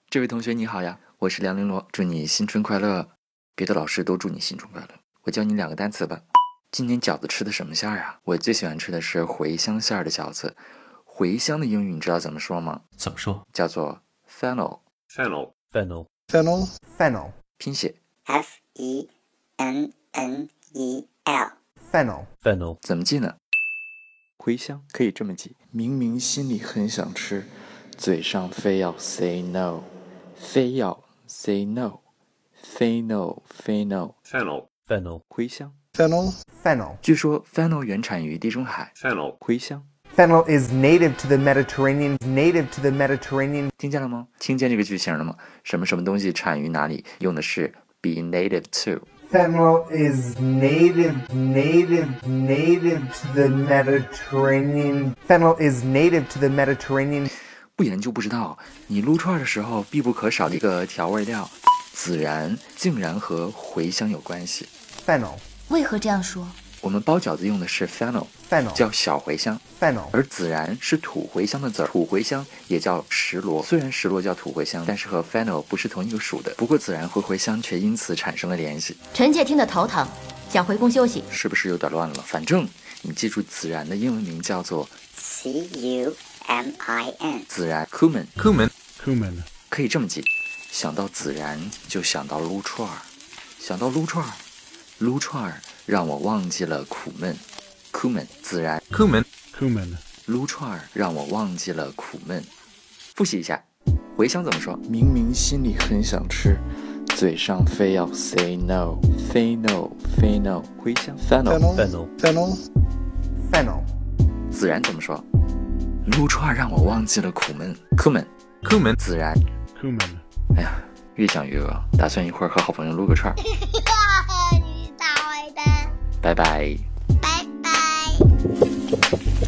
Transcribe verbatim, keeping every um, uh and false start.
这位同学你好呀，我是梁玲珑，祝你新春快乐。别的老师都祝你新春快乐，我教你两个单词吧。今年饺子吃的什么馅儿啊？我最喜欢吃的是茴香馅儿的饺子。茴香的英语你知道怎么说吗？ 怎么说？ 叫做 fennel。 Fennel. Fennel. Fennel. Fennel. 拼写 F E N N E L. Fennel. Fennel. 怎么记呢？茴香可以这么记，明明心里很想吃，嘴上非要 say no， 非要 say no， 非 no 非 no。 Fennel. Fennel. 茴香 Fennel. Fennel. 据说 fennel 原产于地中海。 Fennel. 茴香 Fennel is native to the Mediterranean. Native to the Mediterranean. 听见了吗？听见这个句型了吗？什么什么东西产于哪里，用的是 be native to。 Fennel is native, native, native to the Mediterranean. Fennel is native to the Mediterranean. 不研究不知道，你撸串的时候必不可少的一个调味料孜然，竟然和茴香有关系。 Fennel. 为何这样说？ 我们包饺子用的是 fennel， Fennel. 叫小茴香， Fennel. 而孜然是土茴香的籽儿，土茴香也叫石螺。虽然石螺叫土茴香，但是和 fennel 不是同一个属的。不过孜然和茴香却因此产生了联系。 臣妾听得头疼，想回宫休息。 是不是有点乱了？反正你记住孜然的英文名叫做 C U M I N. 孜然 cumin。 Cumin. Cumin. 可以这么记，想到孜然就想到撸串儿，想到撸串儿，撸串儿让我忘记了苦闷。cumin 孜然 Cumin. Cumin. 撸串儿让我忘记了苦闷。复习一下，茴香怎么说？明明心里很想吃，嘴上非要 say no， 非 no 非 no。茴香 fennel。 Fennel. Fennel. Fennel. 孜然怎么说？撸串儿让我忘记了苦闷。cumin Cumin. 孜然。 Cumin. 哎呀，越想越饿，打算一会儿和好朋友撸个串儿。 你大坏蛋， 拜拜。 拜拜。